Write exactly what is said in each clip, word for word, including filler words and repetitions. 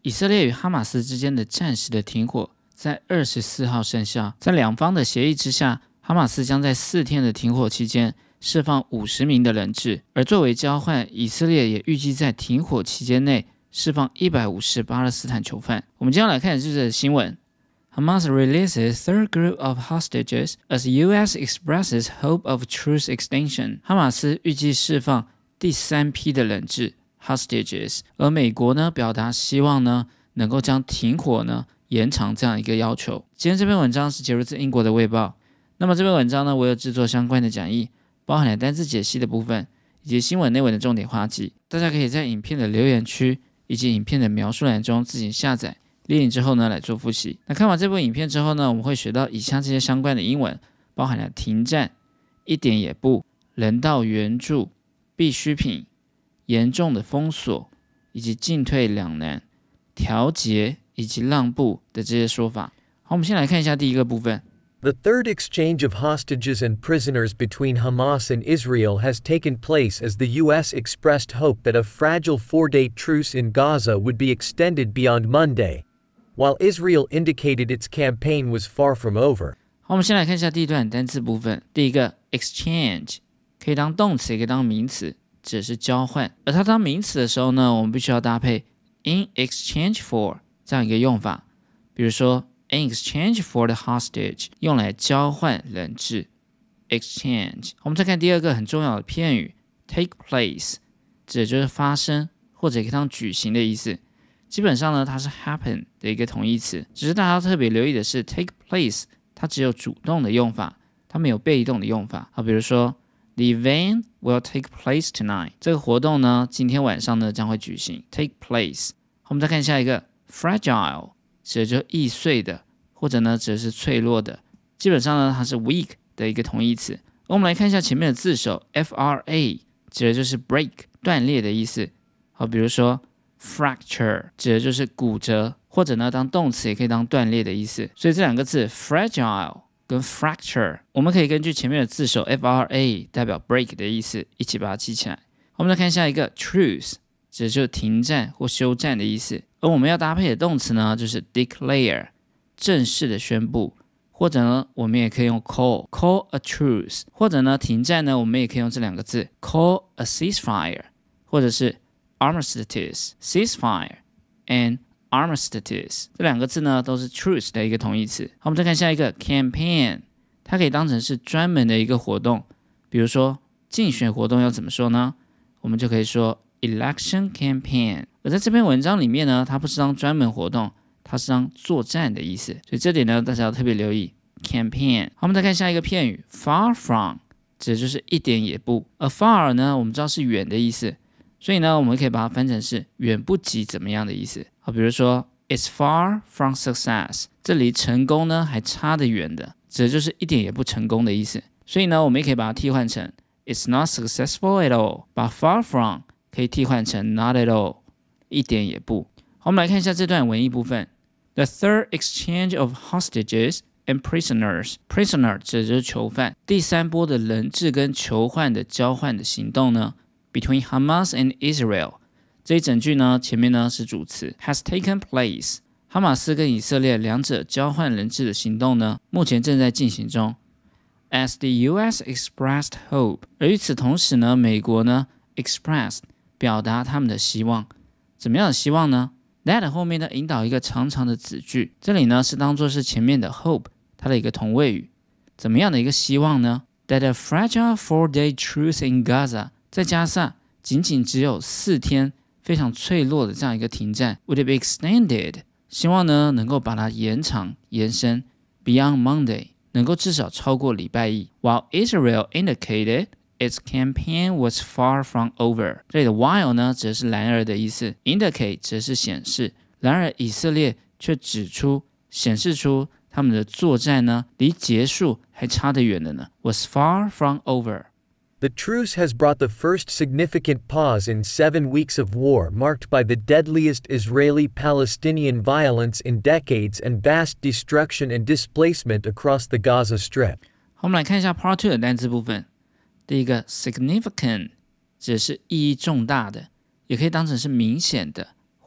以色列与哈马斯之间的暂时的停火在二十四号生效，在两方的协议之下，哈马斯将在四天的停火期间释放五十名的人质，而作为交换，以色列也预计在停火期间内释放一百五十巴勒斯坦囚犯。我们接下来看的是这个新闻。Hamas releases third group of hostages as U S expresses hope of truce extension. 哈马斯预计释放第三批的人质 hostages， 而美国呢表达希望呢能够将停火呢延长这样一个要求。今天这篇文章是节录自英国的卫报。那么这篇文章呢，我有制作相关的讲义，包含了单字解析的部分，以及新闻内文的重点画记。大家可以在影片的留言区以及影片的描述栏中自行下载。列印之后呢，来做复习。那看完这部影片之后呢，我们会学到以下这些相关的英文，包含了停战、一点也不、人道援助、必需品、严重的封锁，以及进退两难、调节以及让步的这些说法。好，我们先来看一下第一个部分。 The third exchange of hostages and prisoners between Hamas and Israel has taken place as the U S expressed hope that a fragile four-day truce in Gaza would be extended beyond Monday.While Israel indicated its campaign was far from over. 好，我们先来看一下第一段单字部分。第一个 exchange 可以当动词，也可以当名词，指的是交换。而它当名词的时候呢，我们必须要搭配 in exchange for 这样一个用法。比如说 in exchange for the hostage 用来交换人质 exchange。我们再看第二个很重要的片语 take place， 指的就是发生或者可以当举行的意思。基本上呢，它是 happen 的一个同义词，只是大家要特别留意的是 take place 它只有主动的用法，它没有被动的用法。好，比如说 The event will take place tonight， 这个活动呢今天晚上呢将会举行 take place。 好，我们再看下一个 fragile 指的就是易碎的，或者呢指的是脆弱的，基本上呢它是 weak 的一个同义词。而我们来看一下前面的字首 F R A 指的就是 break 断裂的意思。好，比如说fracture 指的就是骨折，或者呢当动词也可以当断裂的意思。所以这两个字 fragile 跟 fracture 我们可以根据前面的字首 F R A 代表 break 的意思一起把它记起来。我们来看下一个 truce 指的就是停战或休战的意思。而我们要搭配的动词呢就是 declare 正式的宣布，或者呢我们也可以用 call call a truce， 或者呢停战呢我们也可以用这两个字 call a ceasefire， 或者是Armistice, ceasefire, and armistice 这两个字呢都是 truce 的一个同义词。好，我们再看下一个 campaign， 它可以当成是专门的一个活动。比如说竞选活动要怎么说呢？我们就可以说 election campaign。而在这篇文章里面呢，它不是当专门活动，它是当作战的意思。所以这点呢大家要特别留意 campaign。好，我们再看下一个片语 far from， 指的就是一点也不。而 far 呢我们知道是远的意思，所以呢，我们可以把它翻成是远不及怎么样的意思。好，比如说 It's far from success， 这离成功呢还差得远的，指的就是一点也不成功的意思。所以呢，我们也可以把它替换成 It's not successful at all， 把 far from 可以替换成 not at all， 一点也不。好，我们来看一下这段文艺部分。The third exchange of hostages and prisoners， prisoner 指的就是囚犯。第三波的人质跟囚犯的交换的行动呢Between Hamas and Israel， 这一整句呢，前面呢是主词 has taken place。哈马斯跟以色列两者交换人质的行动呢，目前正在进行中。As the U S expressed hope， 而与此同时呢，美国呢 expressed 表达他们的希望。怎么样的希望呢 ？That 后面呢引导一个长长的子句，这里呢是当作是前面的 hope 它的一个同位语。怎么样的一个希望呢 ？That a fragile four-day truce in Gaza。再加上仅仅只有四天非常脆弱的这样一个停战 would be extended， 希望呢能够把它延长延伸 beyond Monday， 能够至少超过礼拜一。While Israel indicated its campaign was far from over， 这里的 while 呢指的是然而的意思， indicate 指的是显示。然而以色列却指出显示出他们的作战呢离结束还差得远的呢 was far from over。The truce has brought the first significant pause in seven weeks of war marked by the deadliest Israeli-Palestinian violence in decades and vast destruction and displacement across the Gaza Strip. 好，我们来看一下 Part two 的单词部分。第一个 significant 指的是意义重大的，也可以当成是明显的，或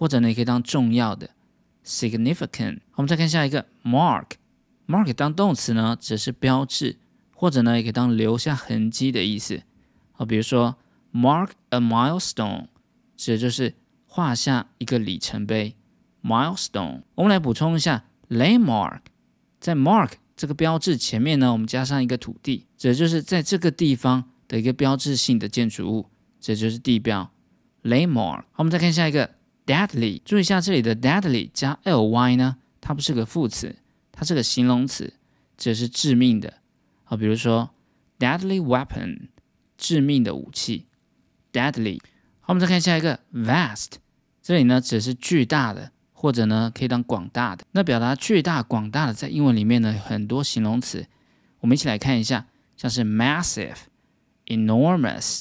或者呢也可以当重要的 significant。我们再看下一个 mark， mark 当动词呢只是标志，或者呢也可以当留下痕迹的意思。好，比如说 mark a milestone， 指的就是画下一个里程碑 milestone。我们来补充一下 landmark， 在 mark 这个标志前面呢，我们加上一个土地，指的就是在这个地方的一个标志性的建筑物，这就是地标 landmark。 好，我们再看下一个 deadly， 注意一下这里的 deadly 加 ly 呢，它不是个副词，它是个形容词，指的是致命的。好，比如说 deadly weapon， 致命的武器 deadly。 好，我们再看下一个 vast， 这里呢指的是巨大的，或者呢可以当广大的。那表达巨大广大的在英文里面呢有很多形容词，我们一起来看一下，像是 massive、 enormous、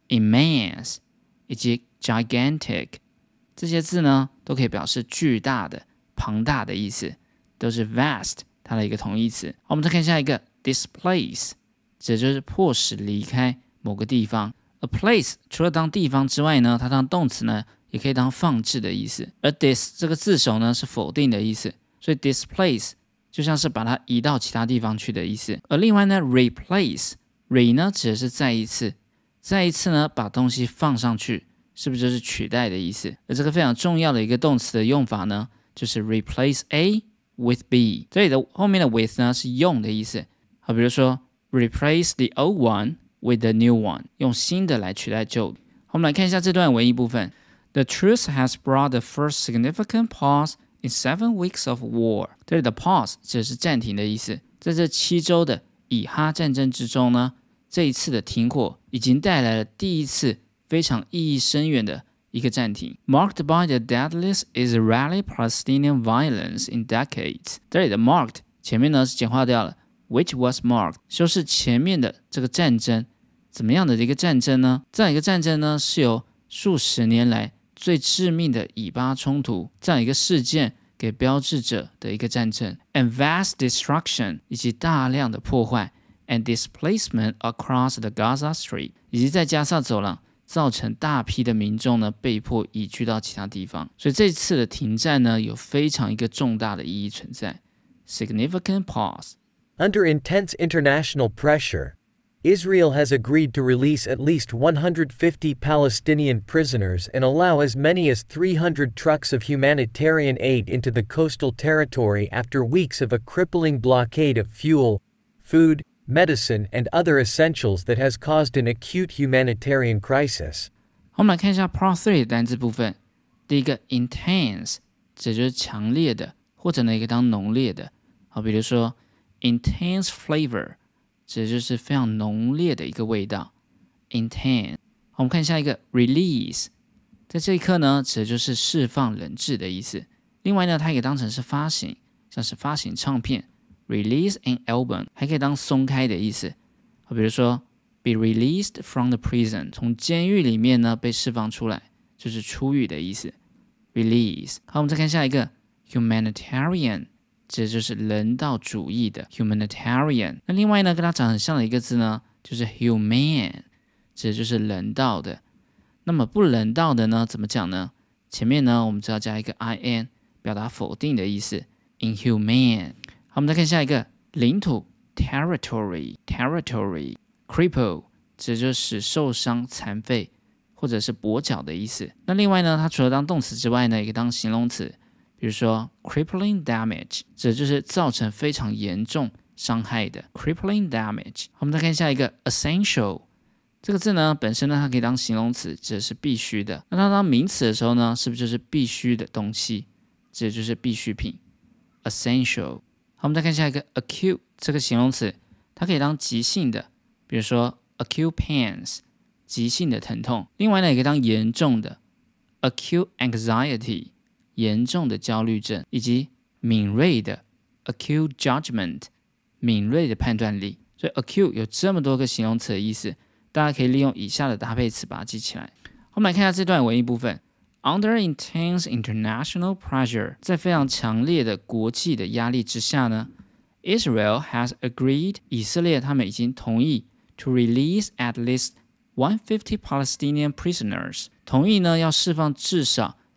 immense 以及 gigantic， 这些字呢都可以表示巨大的、庞大的意思，都是 vast 它的一个同义词。好，我们再看下一个 displace， 指的就是迫使离开某个地方。 a place 除了当地方之外呢，它当动词呢也可以当放置的意思，而 dis 这个字首呢是否定的意思，所以 displace 就像是把它移到其他地方去的意思。而另外呢 replace re 呢指的是再一次，再一次呢把东西放上去，是不是就是取代的意思？而这个非常重要的一个动词的用法呢，就是 replace A with B， 这里的后面的 with 呢是用的意思。好，比如说 replace the old one with the new one， 用新的来取代旧的。好，我们来看一下这段文意部分。The truce has brought the first significant pause in seven weeks of war。 这里的 pause 指的是暂停的意思。在这七周的以哈战争之中呢，这一次的停火已经带来了第一次非常意义深远的一个暂停。 Marked by the deadliest Israeli-Palestinian violence in decades。 这里的 marked 前面呢是简化掉了 which was marked， 修饰前面的这个战争。怎么样的一个战争呢？这样一个战争呢是由数十年来最致命的以巴冲突这样一个事件给标志着的一个战争 and vast destruction 以及大量的破坏 and displacement across the Gaza Strip 以及在加萨走廊造成大批的民众呢被迫移居到其他地方。所以这次的停战呢有非常一个重大的意义存在 significant pause。 Under intense international pressure, Israel has agreed to release at least one hundred fifty Palestinian prisoners and allow as many as three hundred trucks of humanitarian aid into the coastal territory after weeks of a crippling blockade of fuel, food, medicine, and other essentials that has caused an acute humanitarian crisis. 我们来看一下 Part three 的单字部分。第一个 intense 指就是强烈的，或者呢也可以当浓烈的。好，比如说 intense flavor，指的就是非常浓烈的一个味道 intense。 好，我们看下一个 release， 在这一刻呢指的就是释放冷滞的意思。另外呢它也可以当成是发行，像是发行唱片 release an album， 还可以当松开的意思。好，比如说 be released from the prison， 从监狱里面呢被释放出来，就是出狱的意思 release。 好，我们再看下一个 humanitarian，这就是人道主义的 humanitarian。 那另外呢跟它长很像的一个字呢就是 humane， 这就是人道的。那么不人道的呢怎么讲呢？前面呢我们只要加一个 in 表达否定的意思 inhumane。 好，我们再看下一个领土 territory territory cripple， 这就是使受伤残废或者是跛脚的意思。那另外呢它除了当动词之外呢也可以当形容词，比如说 crippling damage， 这就是造成非常严重伤害的 crippling damage。 我们再看下一个 essential， 这个字呢本身呢它可以当形容词，指的是必须的。那它当名词的时候呢是不是就是必须的东西，指的就是必需品 essential。 好，我们再看下一个 acute， 这个形容词它可以当急性的，比如说 acute pains， 急性的疼痛。另外呢也可以当严重的 acute anxiety，严重的焦虑症，以及敏锐的 acute judgment， 敏锐的判断力。所以 acute 有这么多个形容词的意思，大家可以利用以下的搭配词把它记起来。我们来看一下这段文意部分。 Under intense international pressure， 在非常强烈的国际的压力之下呢 Israel has agreed， 以色列他们已经同意 to release at least one hundred fifty Palestinian prisoners， 同意呢要释放至少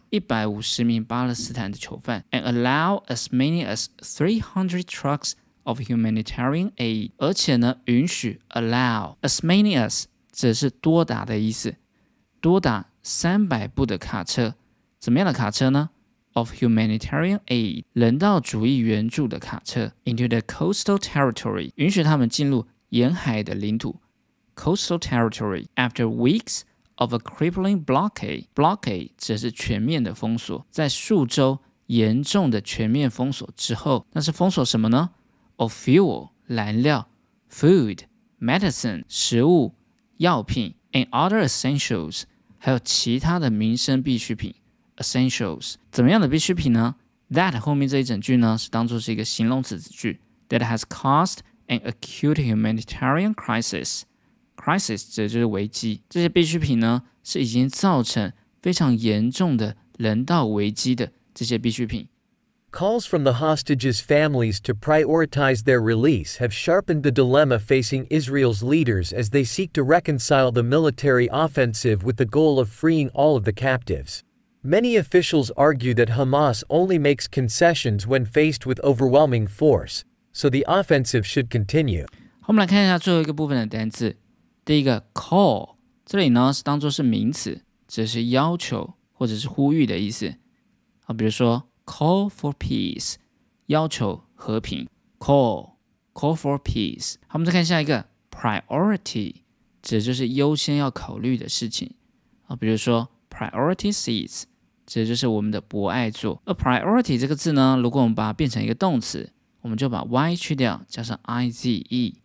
一百五十名巴勒斯坦的囚犯 ，and allow as many as three hundred trucks of humanitarian aid， 而且呢，允许 allow as many as 指的是多达的意思，多达三百部的卡车，怎么样的卡车呢 ？Of humanitarian aid， 人道主义援助的卡车 into the coastal territory， 允许他们进入沿海的领土 coastal territory after weeks of a crippling blockade， blockade 指的是全面的封锁，在数周严重的全面封锁之后，那是封锁什么呢 ？Of fuel 燃料 ，food medicine 食物药品 and other essentials 还有其他的民生必需品 essentials 怎么样的必需品呢 ？That 后面这一整句呢是当作是一个形容词子句 that has caused an acute humanitarian crisis。crisis 指的就是危机，这些必需品呢是已经造成非常严重的人道危机的这些必需品。 Calls from the hostages' families to prioritize their release have sharpened the dilemma facing Israel's leaders as they seek to reconcile the military offensive with the goal of freeing all of the captives. Many officials argue that Hamas only makes concessions when faced with overwhelming force, so the offensive should continue. 我们来看一下最后一个部分的单字。第一个 call， 这里呢是当作是名词，指是要求或者是呼吁的意思。好，比如说 call for peace， 要求和平 call call for peace。好，我们再看下一个 priority， 指的就是优先要考虑的事情。好，比如说 priority seats， 指的就是我们的博爱座。而 priority 这个字呢，如果我们把它变成一个动词，我们就把 y 去掉，加上 ize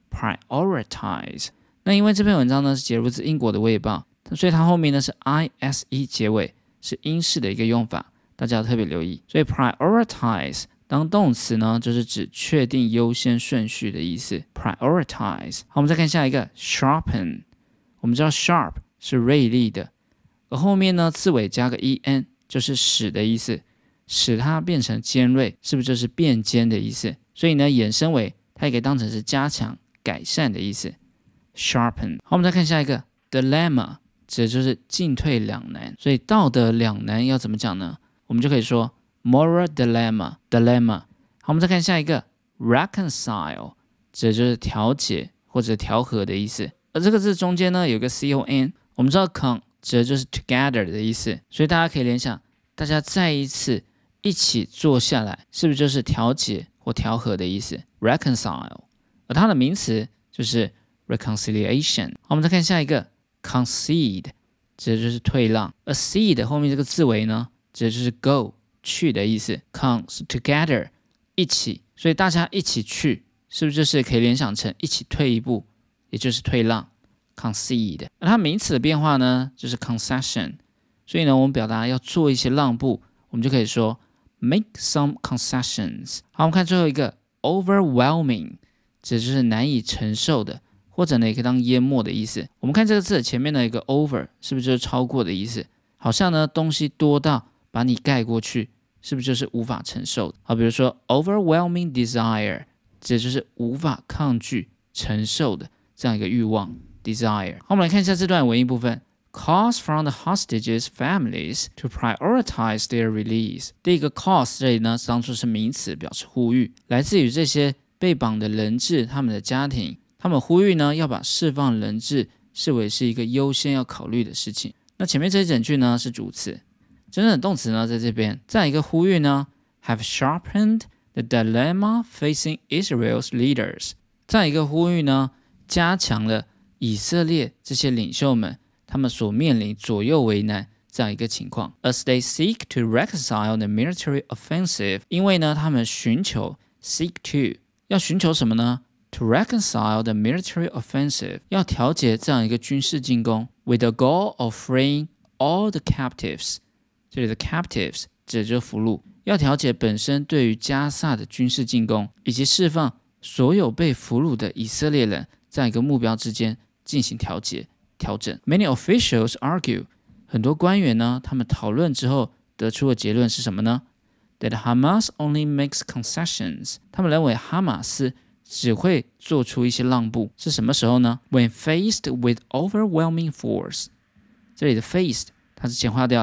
prioritize。那因为这篇文章呢是节录自英国的卫报，所以它后面呢是 ise 结尾，是英式的一个用法，大家要特别留意。所以 prioritize 当动词呢，就是指确定优先顺序的意思。prioritize。好，我们再看下一个 sharpen。我们知道 sharp 是锐利的，而后面呢字尾加个 en 就是使的意思，使它变成尖锐，是不是就是变尖的意思？所以呢衍生为它也可以当成是加强、改善的意思。sharpen。 好，我们再看下一个 dilemma， 指的就是进退两难，所以道德两难要怎么讲呢？我们就可以说 moral dilemma dilemma。 好，我们再看下一个 reconcile， 指的就是调解或者调和的意思，而这个字中间呢有个 con， 我们知道 con 指的就是 together 的意思，所以大家可以联想，大家再一次一起坐下来，是不是就是调解或调和的意思 reconcile。 而它的名词就是 reconciliation。 好，我们再看下一个 concede， 指的就是退让，而 cede 后面这个字尾呢指的就是 go 去的意思。 con 是 together 一起，所以大家一起去，是不是就是可以联想成一起退一步，也就是退让 concede。 而它名词的变化呢就是 concession， 所以呢我们表达要做一些让步，我们就可以说 make some concessions。 好，我们看最后一个 overwhelming， 指的就是难以承受的，或者呢也可以当淹没的意思。我们看这个字前面的一个 over 是不是就是超过的意思？好像呢东西多到把你盖过去，是不是就是无法承受的？好，比如说 overwhelming desire， 指的就是无法抗拒承受的这样一个欲望 desire。 好，我们来看一下这段文艺部分。 Calls from the hostages' families to prioritize their release。 第一个 calls 这里呢当作是名词，表示呼吁，来自于这些被绑的人质他们的家庭，他们呼吁呢要把释放人质视为是一个优先要考虑的事情。那前面这一整句呢是主词，真正的动词呢在这边，这样一个呼吁呢 have sharpened the dilemma facing Israel's leaders。 这样一个呼吁呢加强了以色列这些领袖们他们所面临左右为难这样一个情况。 As they seek to reconcile the military offensive， 因为呢他们寻求 seek to 要寻求什么呢？ To reconcile the military offensive， 要调节这样一个军事进攻 with the goal of freeing all the captives。 这里的 captives 指的就是俘虏，要调节本身对于加萨的军事进攻以及释放所有被俘虏的以色列人这样一个目标之间进行调节调整。 Many officials argue， 很多官员呢他们讨论之后得出的结论是什么呢？ That Hamas only makes concessions， 他们认为哈马斯只会做出一些让步，是什么时候呢？ When faced with overwhelming force， 这里的 faced 它是简化掉了，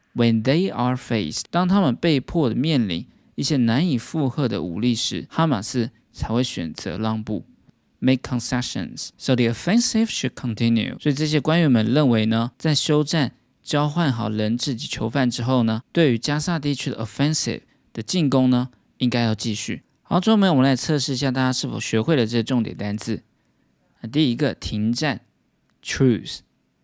When they are faced， 当他们被迫的面临一些难以负荷的武力时，哈马斯才会选择让步 ，make concessions. So the offensive should continue. 所以这些官员们认为呢，在休战、交换好人质及囚犯之后呢，对于加萨地区的 offensive 的进攻呢，应该要继续。好，最后面我们来测试一下大家是否学会了这些重点单字。第一个，停战 ，truce，truce，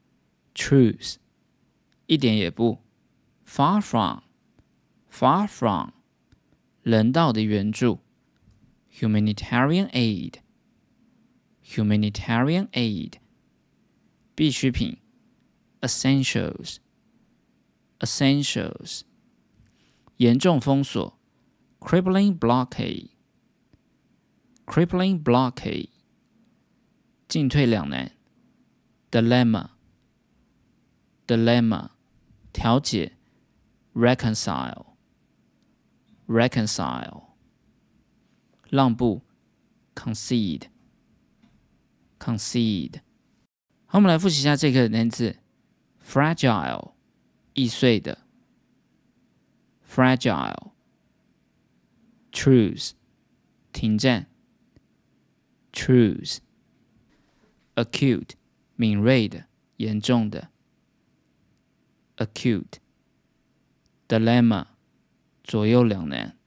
一点也不 ，far from，far from， 人道的援助 ，humanitarian aid，humanitarian aid， 必需品 ，essentials，essentials， 严重封锁 ，crippling blockade，crippling blockade。进退两难 ，dilemma，dilemma， 调解 ，reconcile，reconcile， 让步 ，concede，concede。好，我们来复习一下这个单字 ，fragile， 易碎的 ，fragile，truce， 停战 ，truce。acute 敏锐的、严重的 acute dilemma 左右两难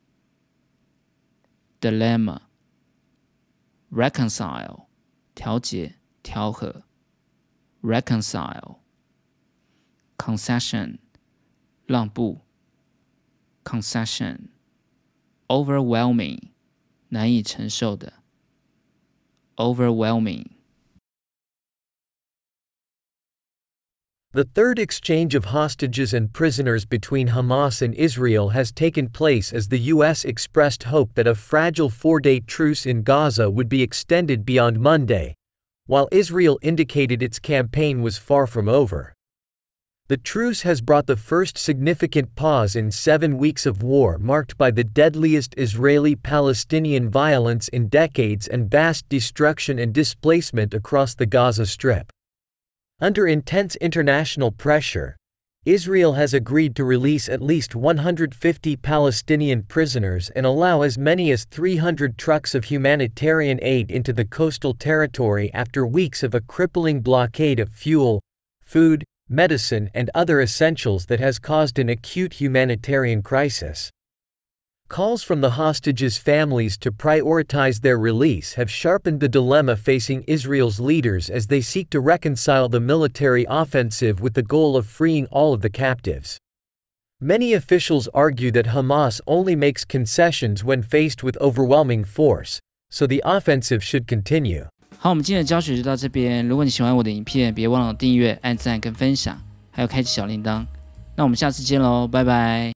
dilemma reconcile 调节、调和 reconcile concession 让步 concession overwhelming 难以承受的 overwhelming。 The third exchange of hostages and prisoners between Hamas and Israel has taken place as the U S expressed hope that a fragile four-day truce in Gaza would be extended beyond Monday, while Israel indicated its campaign was far from over. The truce has brought the first significant pause in seven weeks of war marked by the deadliest Israeli-Palestinian violence in decades and vast destruction and displacement across the Gaza Strip. Under intense international pressure, Israel has agreed to release at least one hundred fifty Palestinian prisoners and allow as many as three hundred trucks of humanitarian aid into the coastal territory after weeks of a crippling blockade of fuel, food, medicine, and other essentials that has caused an acute humanitarian crisis. Calls from the hostages' families to prioritize their release have sharpened the dilemma facing Israel's leaders as they seek to reconcile the military offensive with the goal of freeing all of the captives. Many officials argue that Hamas only makes concessions when faced with overwhelming force, so the offensive should continue. 好，我们今天的教学就到这边。如果你喜欢我的影片，别忘了订阅、按赞跟分享，还有开启小铃铛。那我们下次见喽，拜拜。